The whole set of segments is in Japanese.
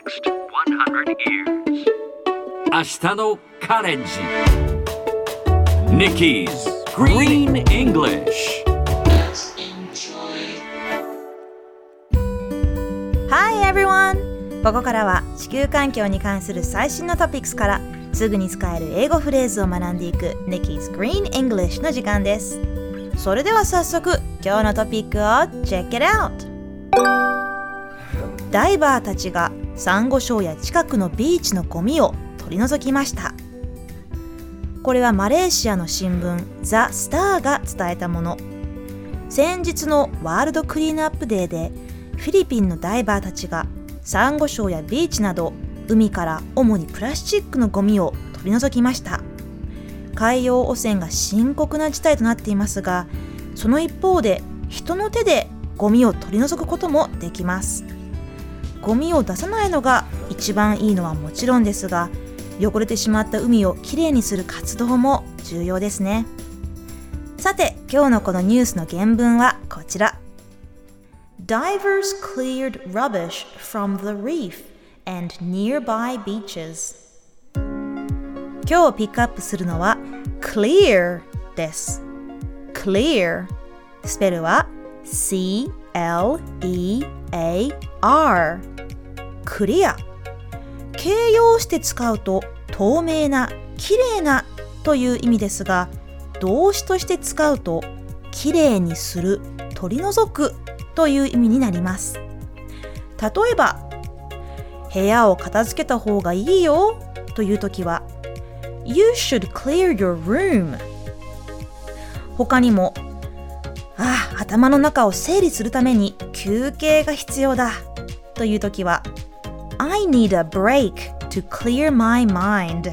next 100 years. 明日のカレンジ Nikki's Green English。 Hi everyone! ここからは地球環境に関する最新のトピックスからすぐに使える英語フレーズを学んでいく Nikki's Green English の時間です。それでは早速今日のトピックを Check it out! ダイバーたちがサンゴ礁や近くのビーチのゴミを取り除きました。これはマレーシアの新聞ザ・スターが伝えたもの。先日のワールドクリーンアップデーでフィリピンのダイバーたちがサンゴ礁やビーチなど海から主にプラスチックのゴミを取り除きました。海洋汚染が深刻な事態となっていますが、その一方で人の手でゴミを取り除くこともできます。ゴミを出さないのが一番いいのはもちろんですが、汚れてしまった海をきれいにする活動も重要ですね。さて、今日のこのニュースの原文はこちら。Divers cleared rubbish from the reef and nearby beaches。 今日ピックアップするのは clear です。 clear スペルは C-L-E-A-R クリア。形容詞で使うと透明な、きれいなという意味ですが、動詞として使うときれいにする、取り除くという意味になります。例えば、部屋を片付けた方がいいよというときは You should clear your room。 他にも、頭の中を整理するために休憩が必要だというときはI need a break to clear my mind。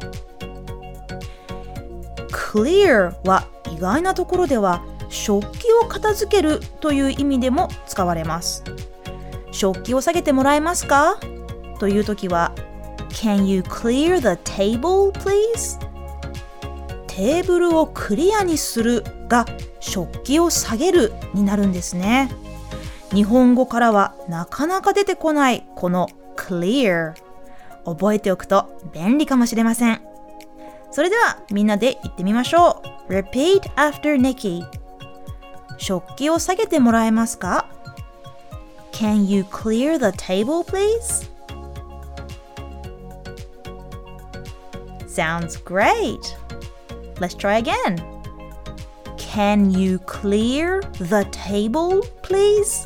clear は意外なところでは食器を片付けるという意味でも使われます。食器を下げてもらえますかというときは Can you clear the table, please？ テーブルをクリアにするが食器を下げるになるんですね。日本語からはなかなか出てこないこの clear。 覚えておくと便利かもしれません。それではみんなで言ってみましょう。 Repeat after Nikki。 食器を下げてもらえますか？ Can you clear the table, please? Sounds great. Let's try again. Can you clear the table, please?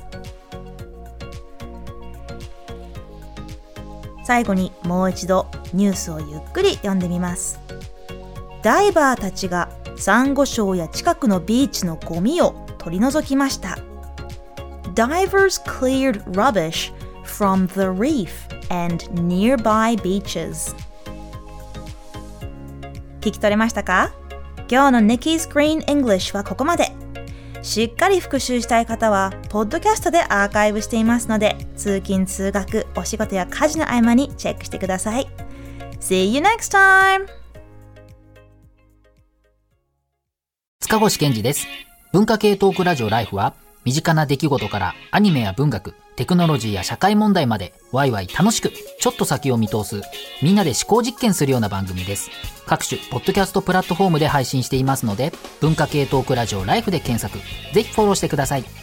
最後にもう一度ニュースをゆっくり読んでみます。ダイバーたちがサンゴ礁や近くのビーチのゴミを取り除きました。Divers cleared rubbish from the reef and nearby beaches。 聞き取れましたか？今日の Nikki's Green English はここまで。しっかり復習したい方はポッドキャストでアーカイブしていますので、通勤通学、お仕事や家事の合間にチェックしてください。 See you next time! 塚越健二です。文化系トークラジオライフは、身近な出来事からアニメや文学、テクノロジーや社会問題までワイワイ楽しくちょっと先を見通す、みんなで思考実験するような番組です。各種ポッドキャストプラットフォームで配信していますので、文化系トークラジオライフで検索、ぜひフォローしてください。